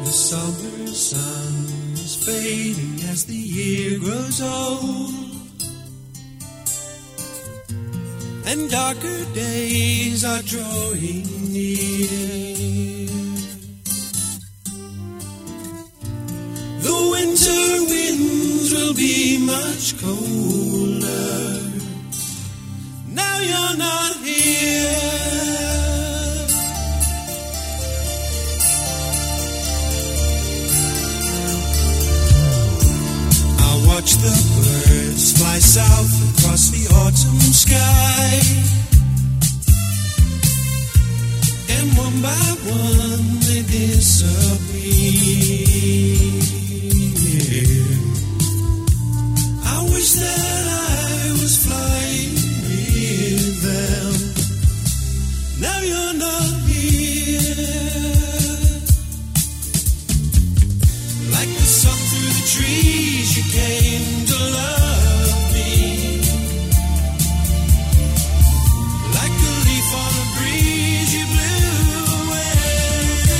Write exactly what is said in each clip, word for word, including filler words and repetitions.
the summer sun is fading as the year grows old, and darker days are drawing near. The winter winds will be much colder. Now you're not here. I watch the birds fly south across the autumn sky, and one by one they disappear. I wish that I was flying with them. Now you're not here. Like the sun through the trees, you came to love me. Like a leaf on a breeze, you blew away.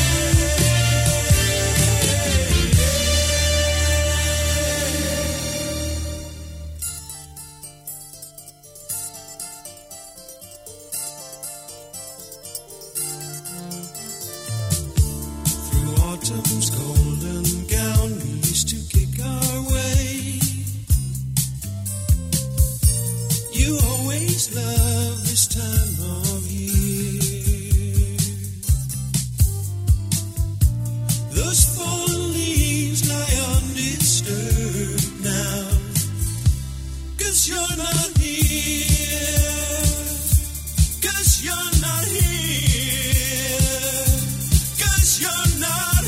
Through autumn's golden gown, we used to kick our way. You always love this time of year. Those fallen leaves lie undisturbed now, 'cause you're not here. 'Cause you're not here. 'Cause you're not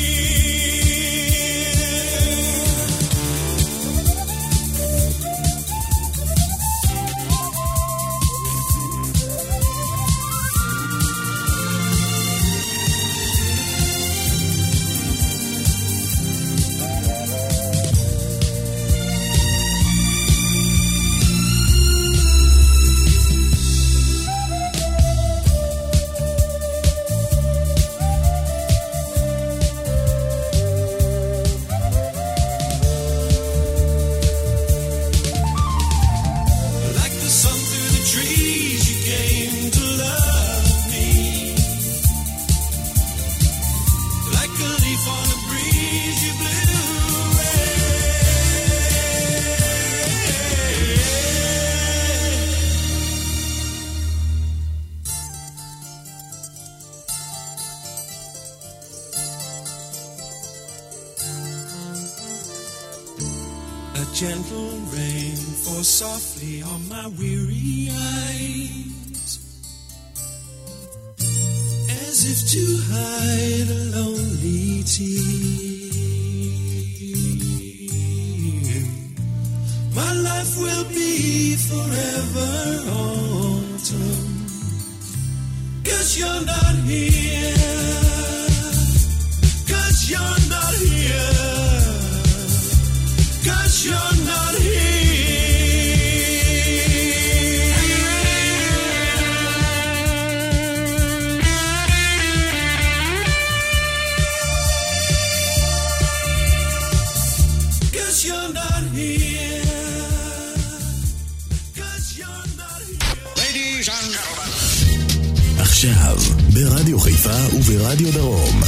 like the sun through the trees, you came to love me. Like a leaf on a breeze, you blew away. A gentle rain falls softly on my weary eyes, as if to hide a lonely tear. My life will be forever autumn, 'cause you're not here. 'Cause you're not here. 'Cause you're not here. Cause you're not here. Cause you're not here. Ladies and gentlemen. עכשיו, ברדיו חיפה וברדיו דרום.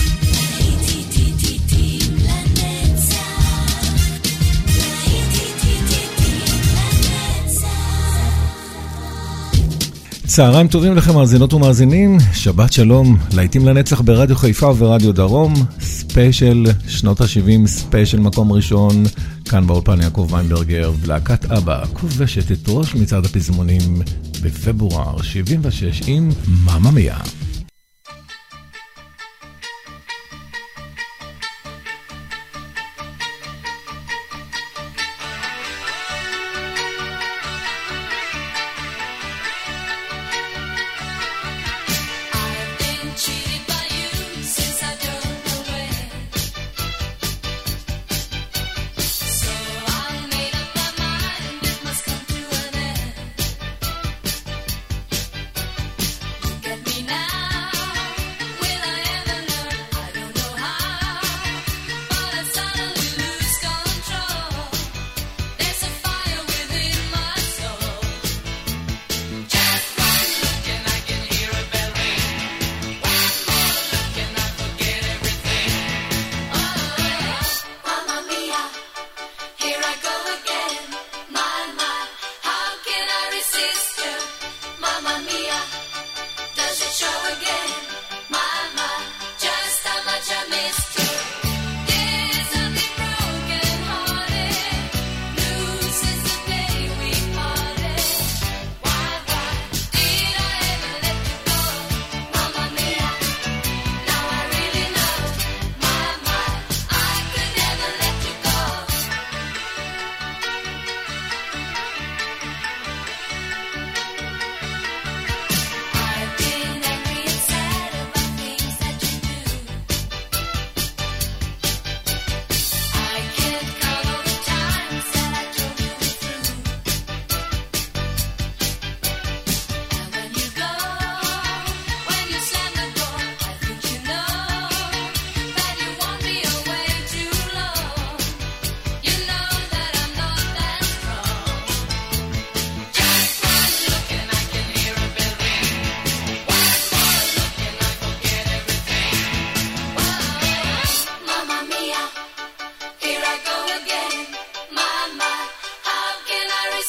צהריים טובים לכם מאזינות ומאזינים, שבת שלום, להיטים לנצח ברדיו חיפה וברדיו דרום, ספיישל שנות ה-שבעים, ספיישל מקום ראשון, כאן באולפן יעקב ויינברגר, ולהקת אבא, כובשת את ראש מצעד הפזמונים בפברואר שבעים ושש עם מאמא מיה. Now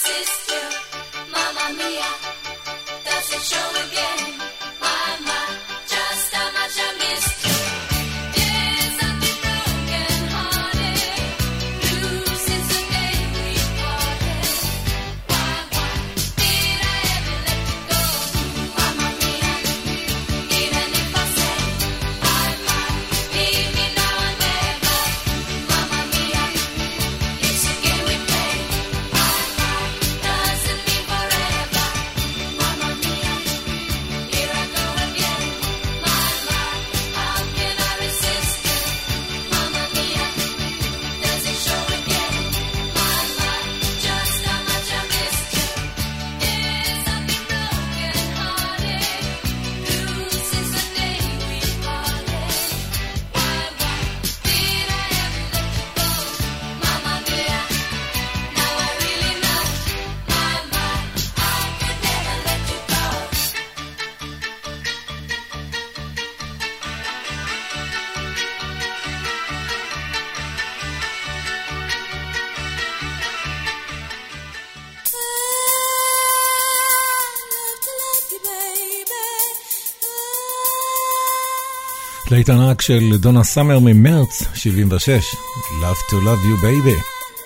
להיט ענק של דונה סאמר ממרץ שבעים ושש, Love to Love You Baby.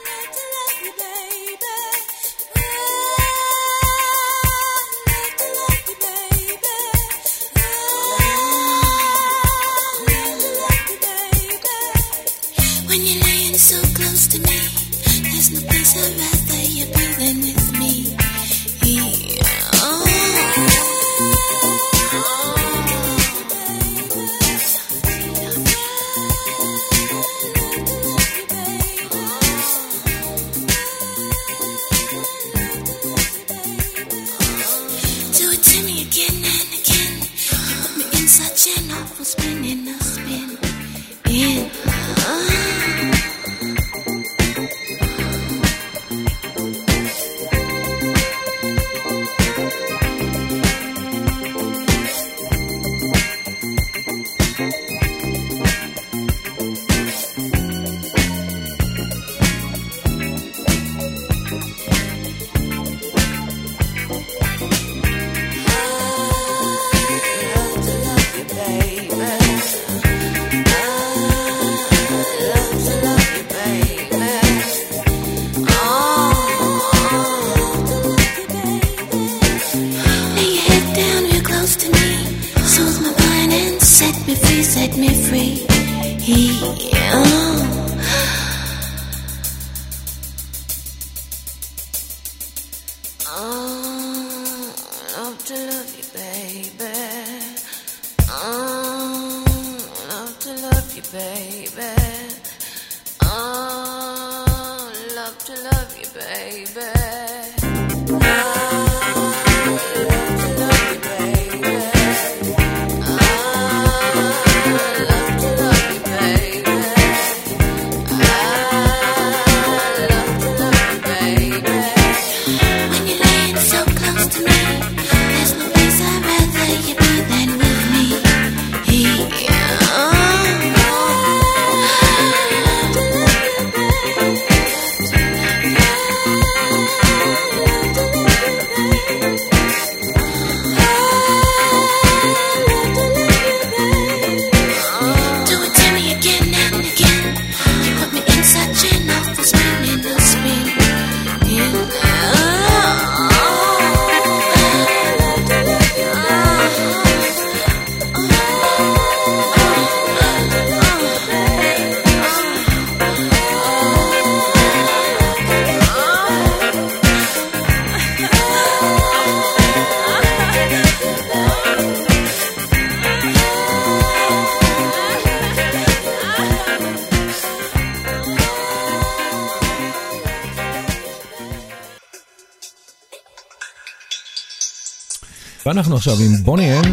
ואנחנו עכשיו עם בוני אם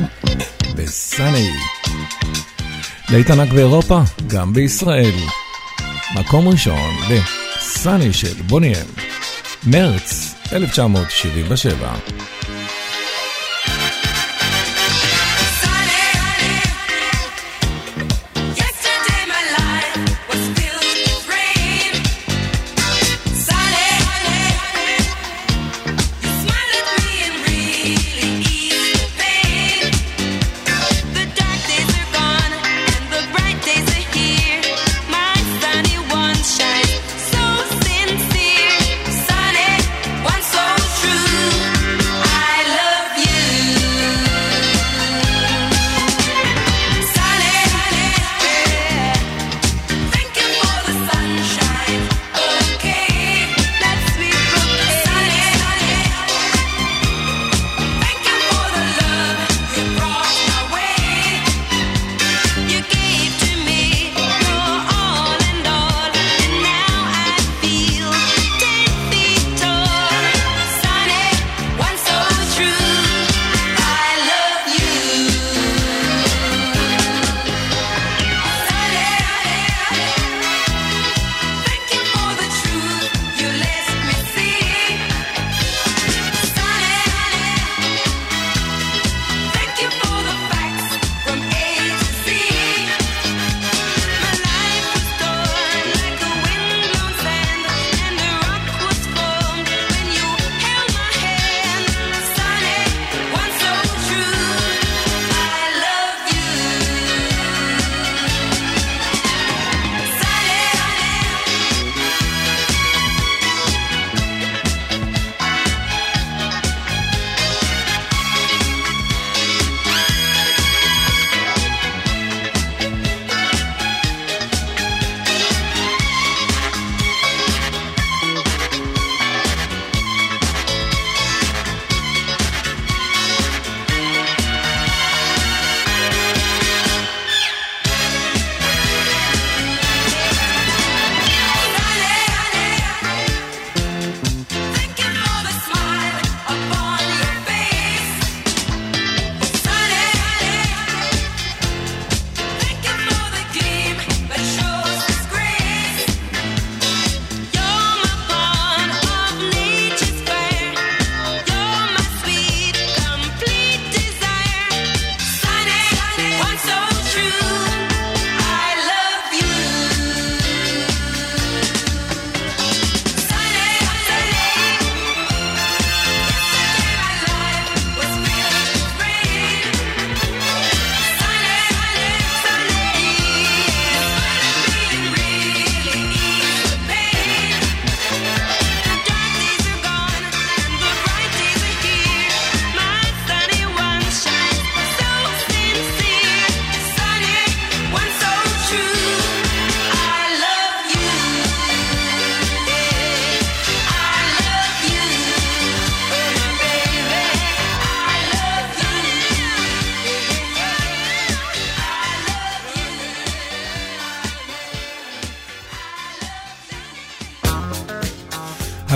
וסאני. להיט ענק באירופה, גם בישראל. מקום ראשון לסאני של בוני אם, מרץ אלף תשע מאות שבעים ושבע.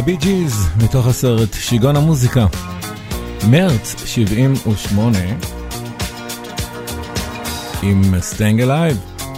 בי ג'יז, מתוך הסרט שיגעון המוזיקה, מרץ שבעים ושמונה, עם Staying Alive.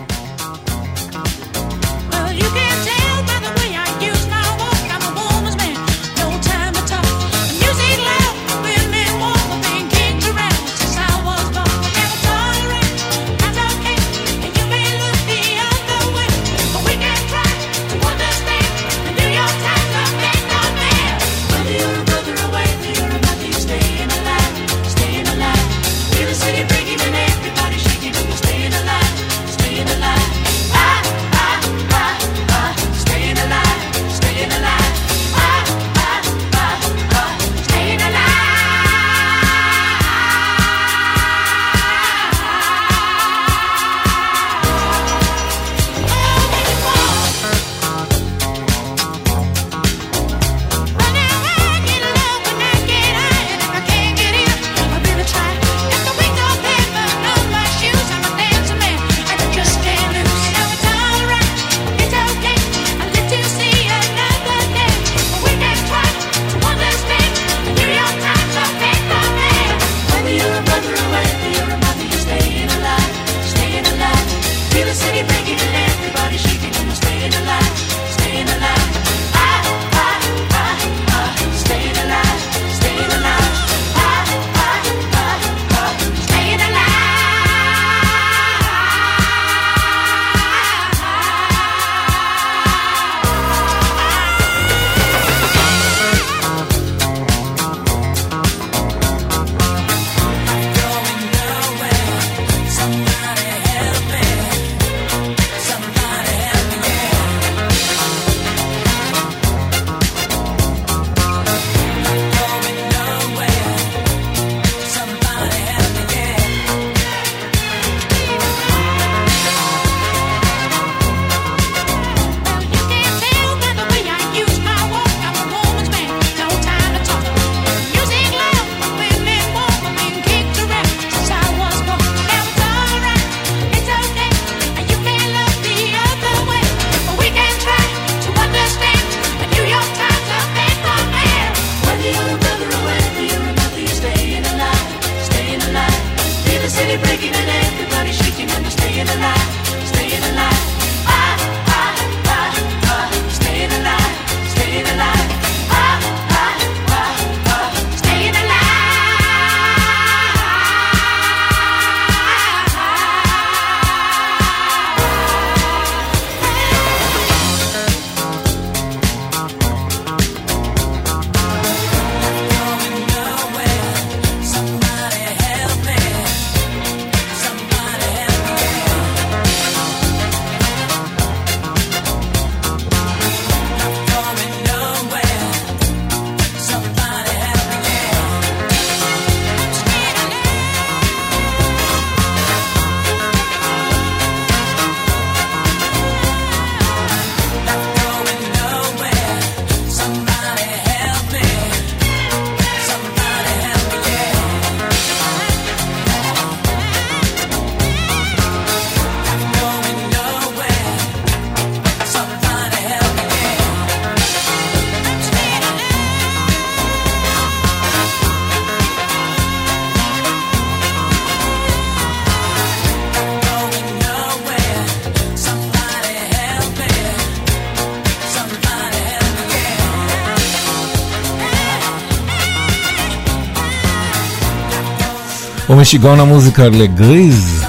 ומשיגעון המוזיקה לגריז,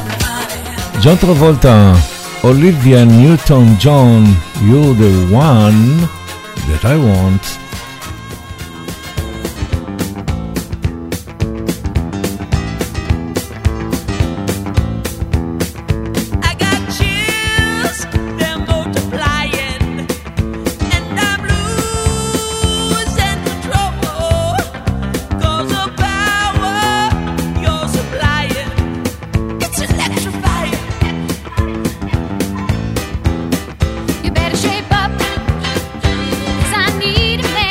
ג'ון טרבולטה, אוליביה ניוטון ג'ון, You're the one that I want. You better shape up, 'cause I need a man.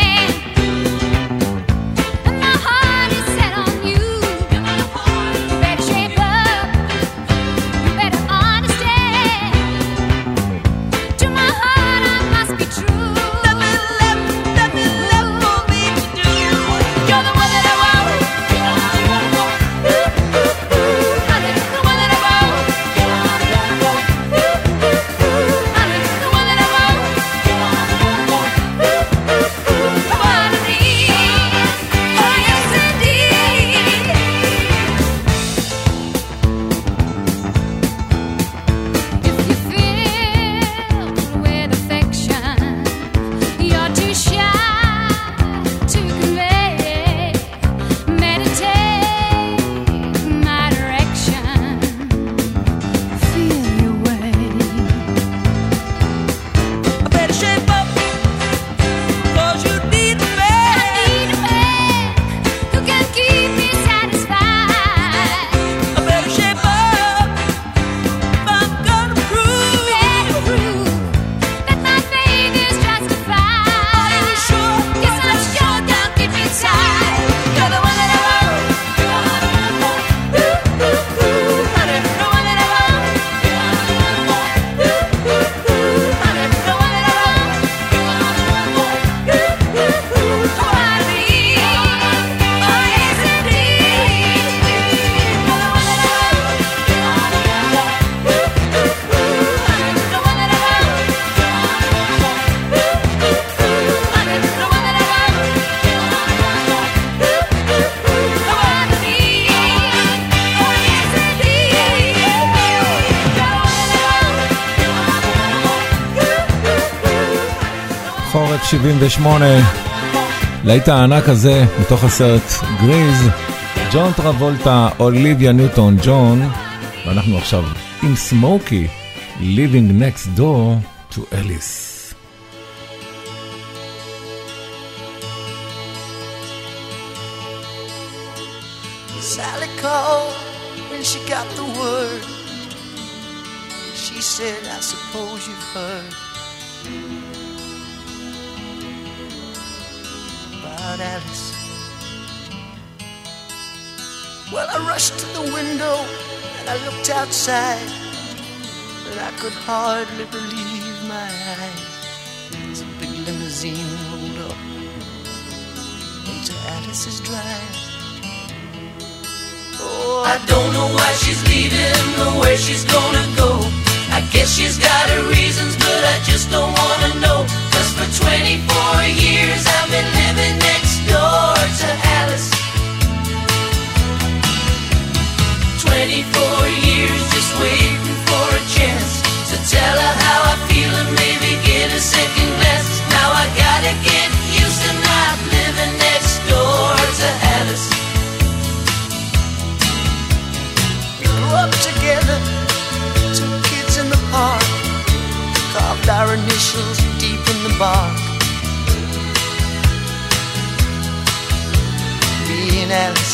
שבעים ושמונה, להיט הענק הזה מתוך הסרט גריז, ג'ון טרבולטה, אוליביה ניוטון ג'ון, ואנחנו עכשיו עם סמוקי, Living Next Door to Alice. Sally called when she got the word. She said, I suppose you've heard about Alice. Well, I rushed to the window and I looked outside, and I could hardly believe my eyes as a big limousine rolled up into Alice's drive. Oh, I don't know why she's leaving or where she's gonna go. I guess she's got her reasons, but I just don't wanna know. Cause for twenty-four years I've been living next door to Alice. twenty-four years just waiting for a chance to tell her how I feel and maybe get a second glance. Now I gotta get used to not living next door to Alice. We grew up together, two kids in the park, carved our initials deep in the bark. Me and Alice.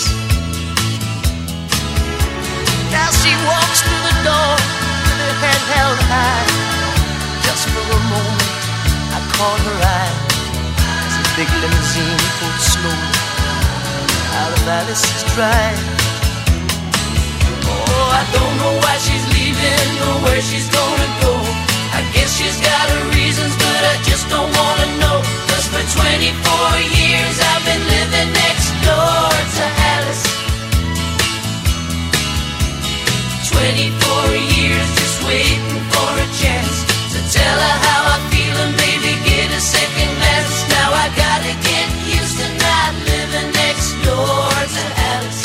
Now she walks through the door with her head held high. Just for a moment I caught her eye as the big limousine pulled slowly out of Alice's drive. Oh, I don't know why she's leaving or where she's gonna go. I guess she's got her reasons, but I just don't wanna know. Cause for twenty-four years I've been living next door to Alice. twenty-four years just waiting for a chance to tell her how I feel and maybe get a second glance. Now I gotta get used to not living next door to Alice.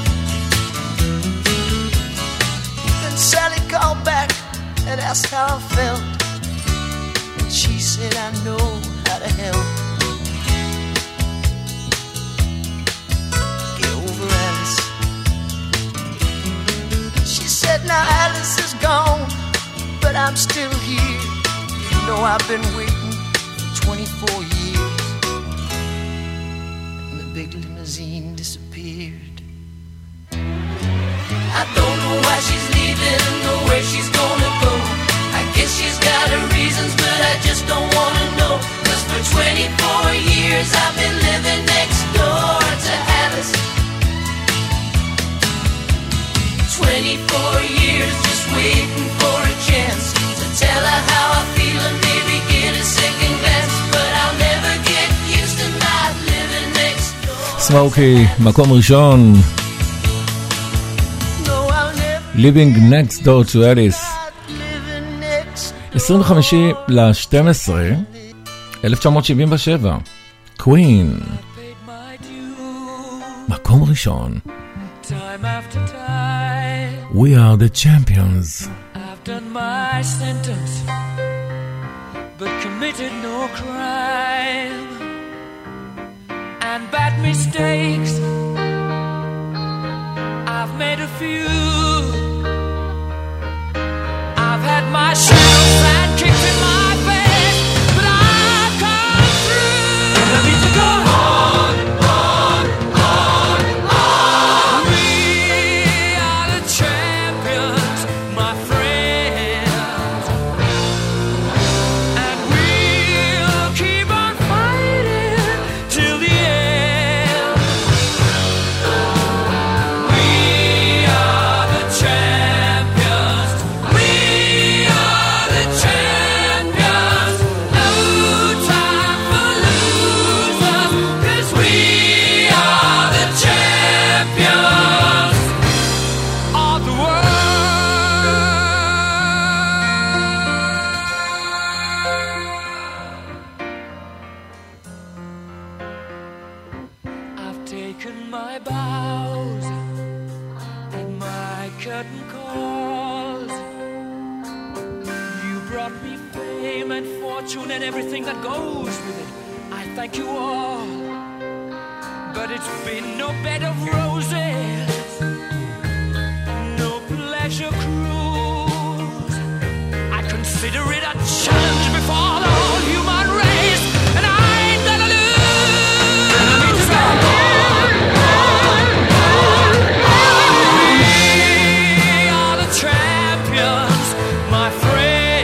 Then Sally called back and asked how I felt, and she said I know how to help. Get over Alice. She said now Alice is gone, but I'm still here. You know I've been waiting for twenty-four years. And the big limousine disappeared. I don't know why she's leaving or where she's gonna go. I guess she's got her reasons, but I just don't wanna know. Cause for twenty-four years I've been living next door to Alice. twenty-four years just waiting for a chance to tell her how I feel and maybe get a second glance. But I'll never get used to not living next door. סמוקי, מקום ראשון. Living Next Door to Alice. עשרים וחמישה לשתים עשרה אלף תשע מאות שבעים ושבע. Queen. מקום ראשון. Time after time, We are the champions. I've done my sentence, but committed no crime. And bad mistakes, I've made a few. I've had my shadows and kicks in my face, but I've come through. And I need to go on, on, on, on. We are the champions, my friends, and we'll keep on fighting till the end. We are the champions. We are the champions. No time for losers, 'cause we are the champions of the world. I've taken my bows and my curtain calls. You brought me fame and fortune and everything that goes with it. thank you all, but it's been no bed of roses, no pleasure cruise. I consider it a challenge before the whole human race, and I ain't gonna lose. And I mean to say, on, on, on, on. We are the champions, my friends.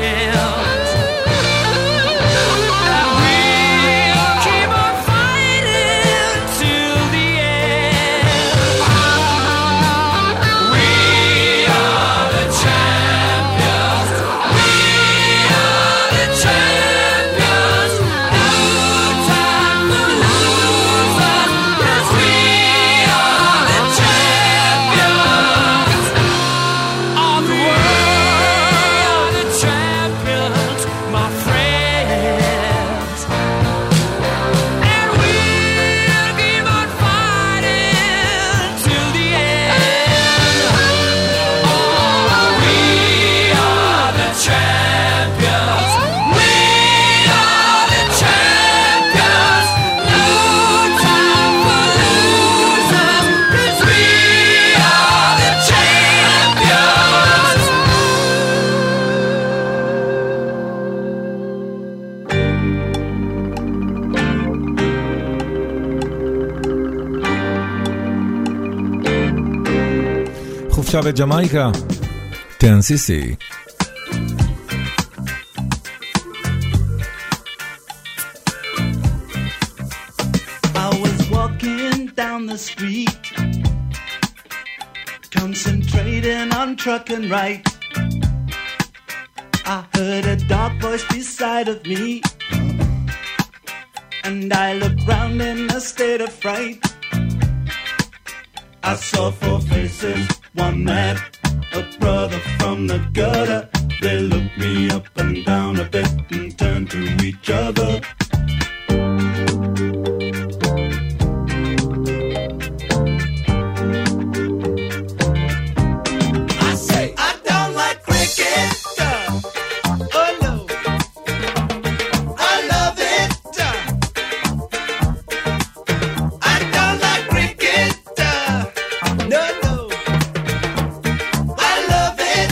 חופשה בג'מייקה, טנסי. I was walking down the street, concentrating on trucking right. I heard a dark voice beside of me, and I looked round in a state of fright. I saw four faces, one man, a brother from the gutter. They looked me up and down a bit and turned to each other. I say, I don't like cricket. Oh no, I love it. I don't like cricket. No, no, I love it.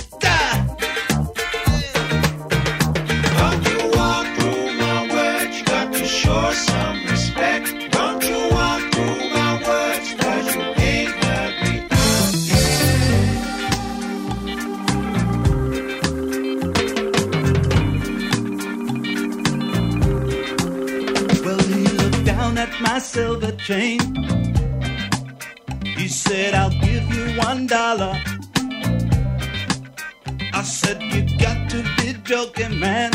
Don't you walk through my words, you got to show some respect. Don't you walk through my words, cause you ain't heard me. Well, he looked down at my silver chain. He said, I'll give you one dollar. I said, you got to be joking, man.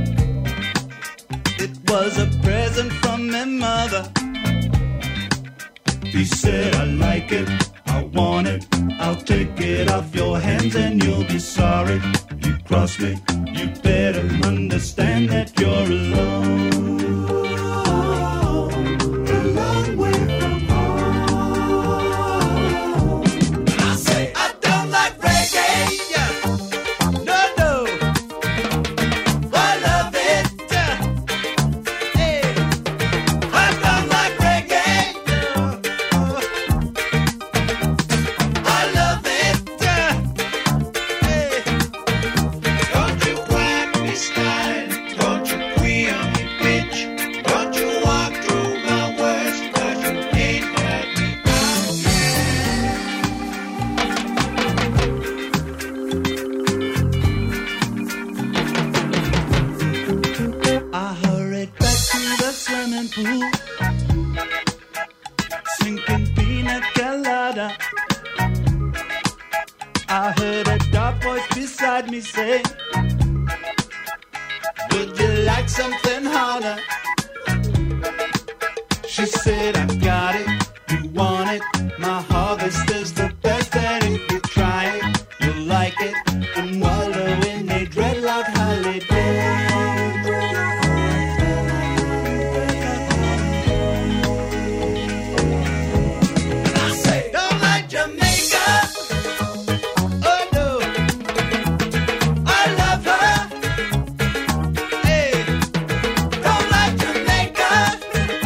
It was a present from my mother. He said, I like it, I want it. I'll take it off your hands and you'll be sorry. You cross me, you better understand that you're alone. A long way from home. I say, I don't like reggae. No, no, I love it. Hey, I don't like reggae. I love it. Hey, don't you whack me style. Don't you queer on me bitch. Don't you walk through my words, cause you ain't heard me. I hurried back to the swimming pool, sinking pina colada. I heard a dark voice beside me say, would you like something harder? She said, I got it, you want it. My harvest is the best, and if you try it, you'll like it. And wallow in a dreadlock holiday. I say, don't like Jamaica. Oh no, I love her. Hey, don't like Jamaica.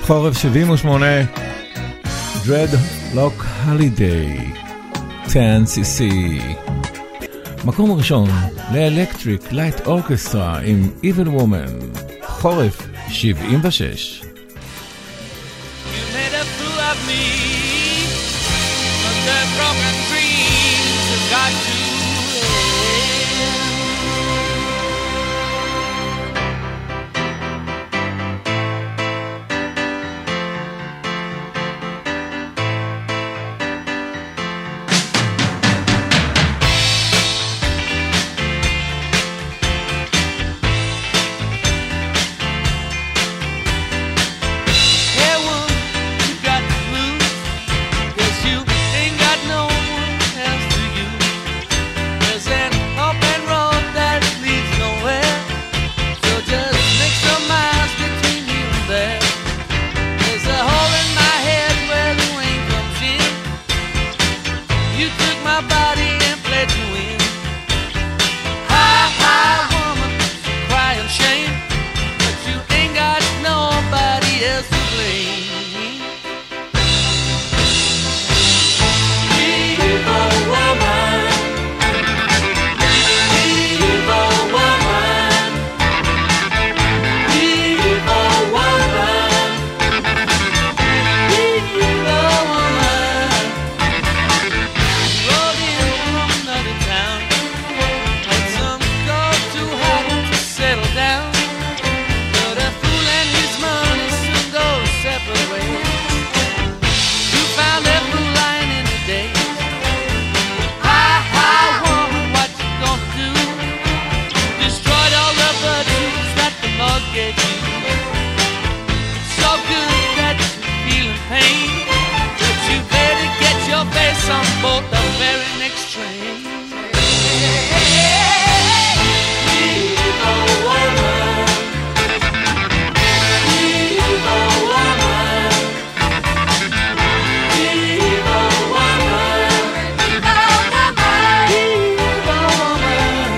חורף שבעים ושמונה, Dreadlock Holiday, עשר סי סי. מקום ראשון ל-Electric Light Orchestra עם Evil Woman, חורף שבעים ושש. You made a fool of me, but the broken dreams have got to end. Hey, woman, you got the blues, 'cause you ain't got no one else to use. There's an open road that leads nowhere, so just make some miles between you and there. There's a hole in my head where the rain comes in. You took my body and played to win. Hi, hi, woman, crying shame, but you ain't got nobody else to blame. Evil woman, evil woman, evil woman, evil woman. Rode in from another town, had some gold too hot to settle down. But a fool and his money soon go separate ways. You found that fool lying in the day. Hi, hi, woman, what you gonna do? Destroyed all the virtues that the Lord gave you. So good that you're feeling pain, but you better get your face on board the very next train. Evil woman, evil woman, evil woman, evil woman.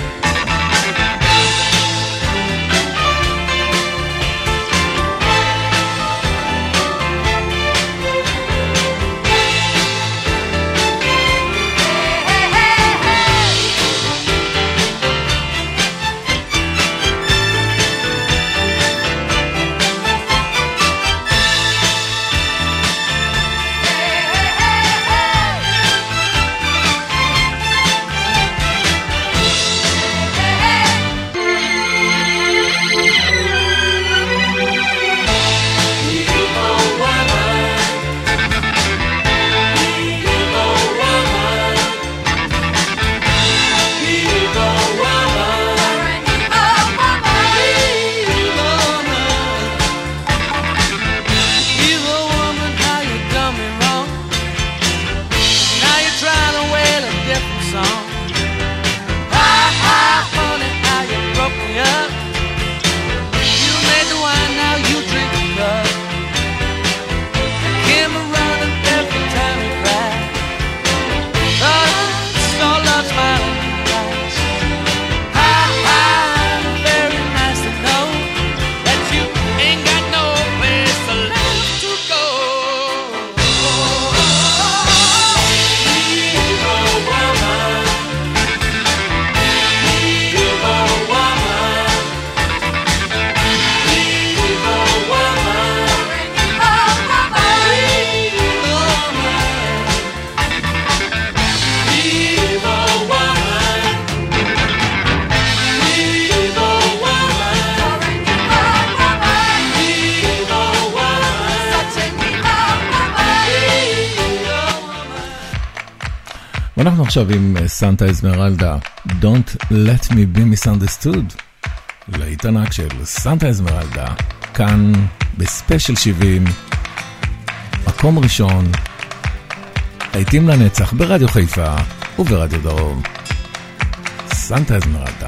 Evil woman, how you done me wrong. Now you're trying to wail a different song. Hi, hi, honey, how you broke me up. You made the wine, now you drink the cup. Came around and every time you cried, thought I saw love smiling in your eyes. Hi, hi, very nice to know that you ain't got no place left to go. Evil woman, evil woman, evil woman, evil woman, evil ואנחנו עכשיו עם סנטה אזמרלדה, Don't Let Me Be Misunderstood, להיט ענק של סנטה אזמרלדה, כאן בספיישל שבעים, מקום ראשון, להיטים לנצח ברדיו חיפה וברדיו דרום, סנטה אזמרלדה.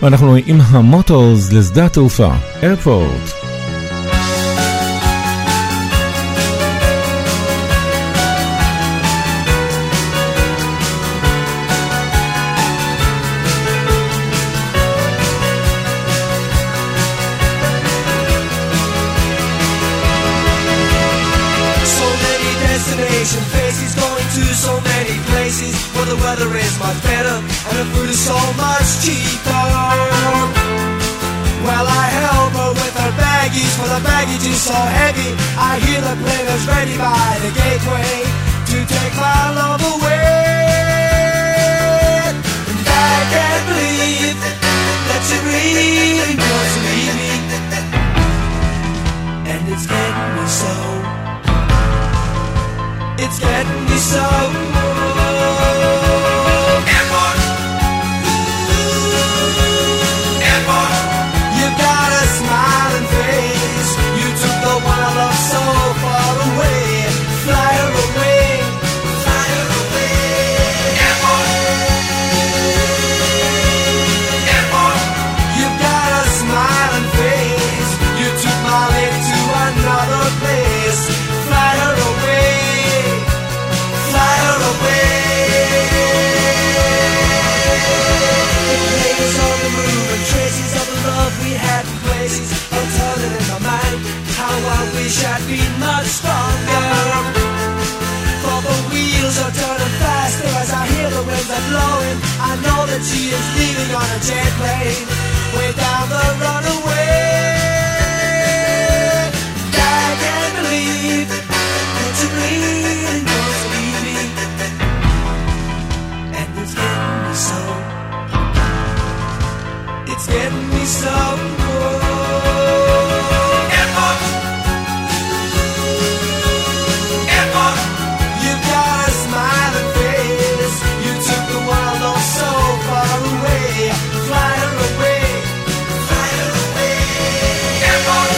ואנחנו עם המוטורס לשדה התעופה, איירפורט. Faces going to so many places where the weather is much better and the food is so much cheaper. Well, I help her with her baggies, for the baggage is so heavy. I hear the plane is ready by the gateway to take my love away. And I can't believe that she really wants to leave me, and it's getting me so. It's getting me so. Airport. Airport. You got a smiling face. You took the one I love so far away. Fly her away. Fly her away. Airport. Airport. You got a smiling face. You took my lady to another place. Fly her away. Fly her away. The players on the move and traces of the love we had in places are turning in my mind. How I wish I'd been much stronger. For the wheels are turning faster as I hear the winds are blowing. I know that she is leaving on a jet plane way down the runaway. I can't believe that you really wants to leave me, and it's getting me so. It's getting me so. Airport. Airport. You got a smiling face. You took the world all so far away. Fly her away. Fly her away. Airport.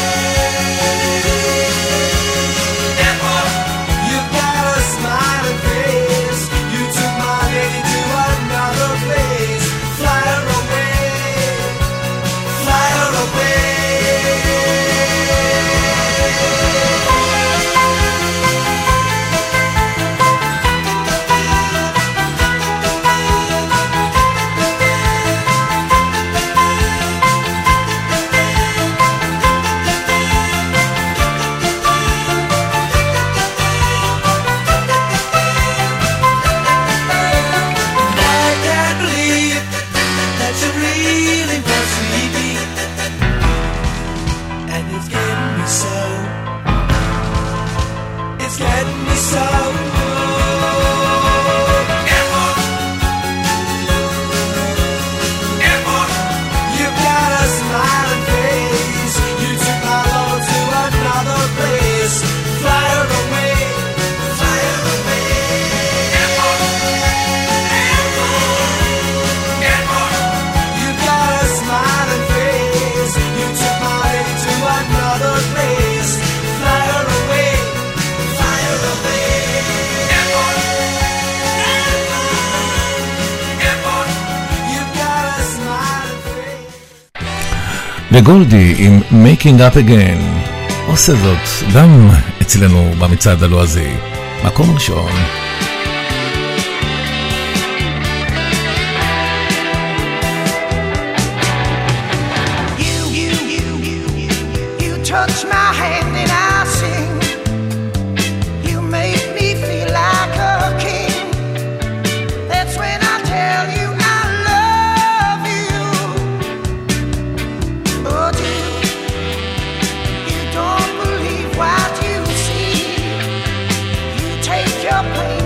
Airport. You got a smiling face. You took my lady to another place. Fly her away. Fly her away. I can't believe that you really want to leave me, and it's getting me so. It's getting me so. Airport. Airport. You got a smiling face. You took my love to another place. Fly her away. Fly her away. Airport. Airport. You got a smiling face. You took my lady to another place. Fly her away. Fly her away. Airport. Airport. You got a smiling face. וגולדי עם Making Up Again עושה זאת גם אצלנו במצעד הלועזי, מקום ראשון. You, you, you, you, you, you touch my hand and I sing. You make me feel like a king. That's when I tell you I love you. But you, you don't believe what you see. You take your place.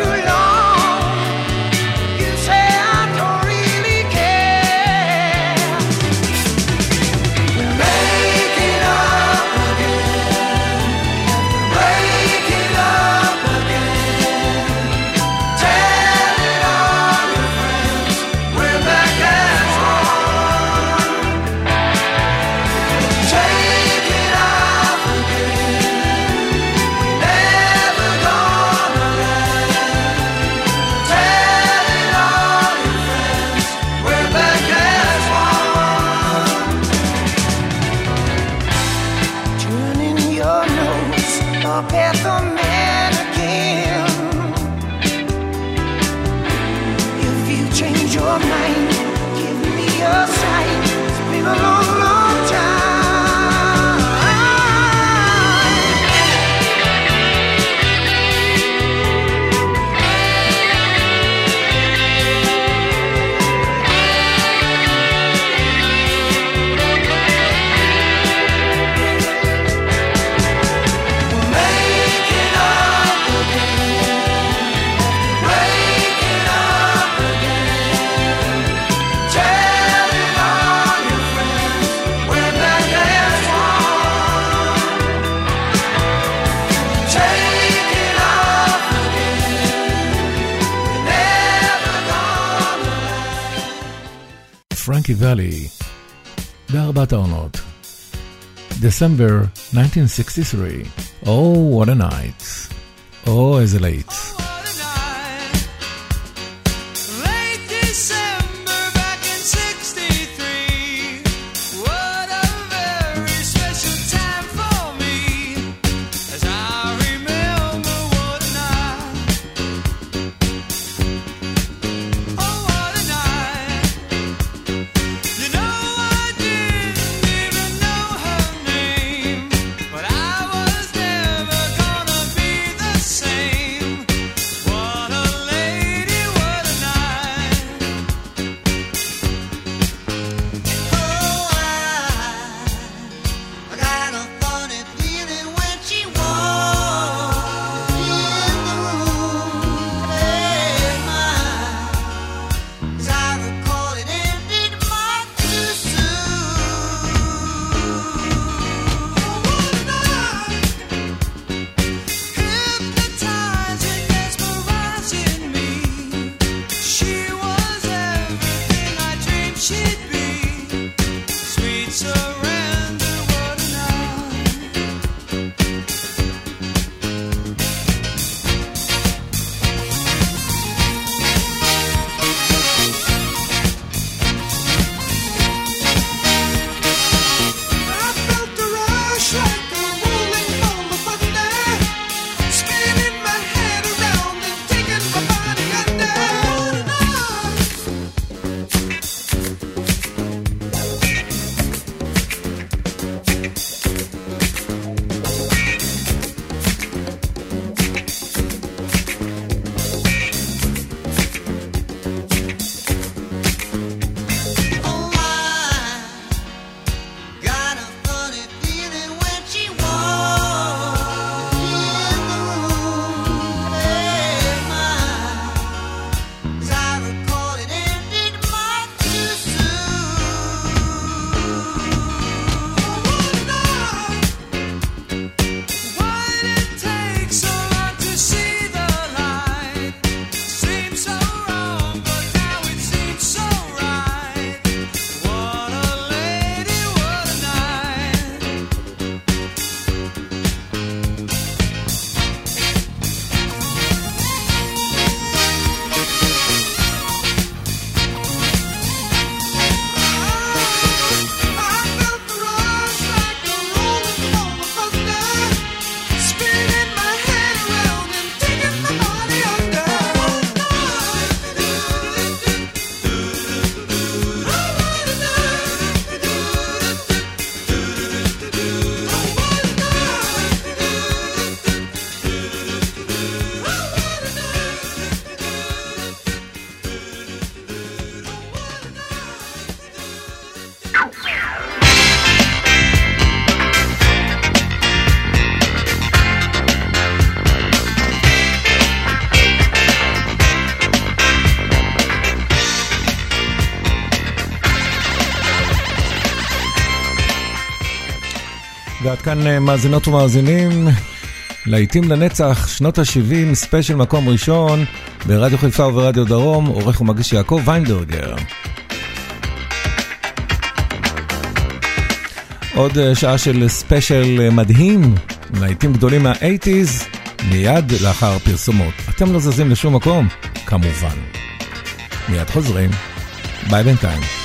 too long. You say I don't really care. We're making up again, breaking up again. Telling all your friends we're back as one. Take it off again. Never gonna let. Telling all your friends we're back as one. Turning your nose up at the mannequin. If you change your mind, give me a sign. It's been a long, long time. We're making up again, breaking up again. Telling all your friends we're back as one. Take it off again. Never gonna. פרנקי ואלי, בארבעת העונות. December nineteen sixty-three. Oh, what a night. Oh, איזה להיט. What a night. Late December back in sixty-three. What a very special time for me. As I remember what a night. Oh, what a night. You know I didn't even know her name, but I was never gonna be the same. ועד כאן מאזינות ומאזינים, להיטים לנצח, שנות ה-שבעים, ספיישל מקום ראשון, ברדיו חיפה וברדיו דרום, עורך ומגיש יעקב ויינברגר. עוד שעה של ספיישל מדהים, להיטים גדולים מה-שמונים, מיד לאחר פרסומות. אתם לא זזים לשום מקום, כמובן. מיד חוזרים, ביי בינתיים.